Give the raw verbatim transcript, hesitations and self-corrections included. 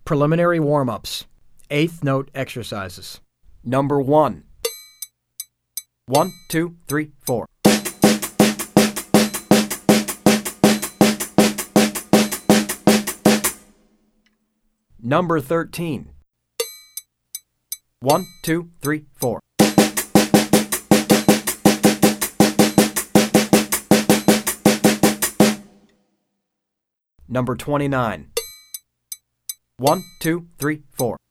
Preliminary warm-ups. Eighth note exercises. Number one. One, two, three, four. Number thirteen. One, two, three, four. Number twenty-nine. One, two, three, four.